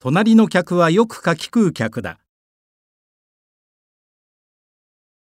隣の客はよく柿食う客だ。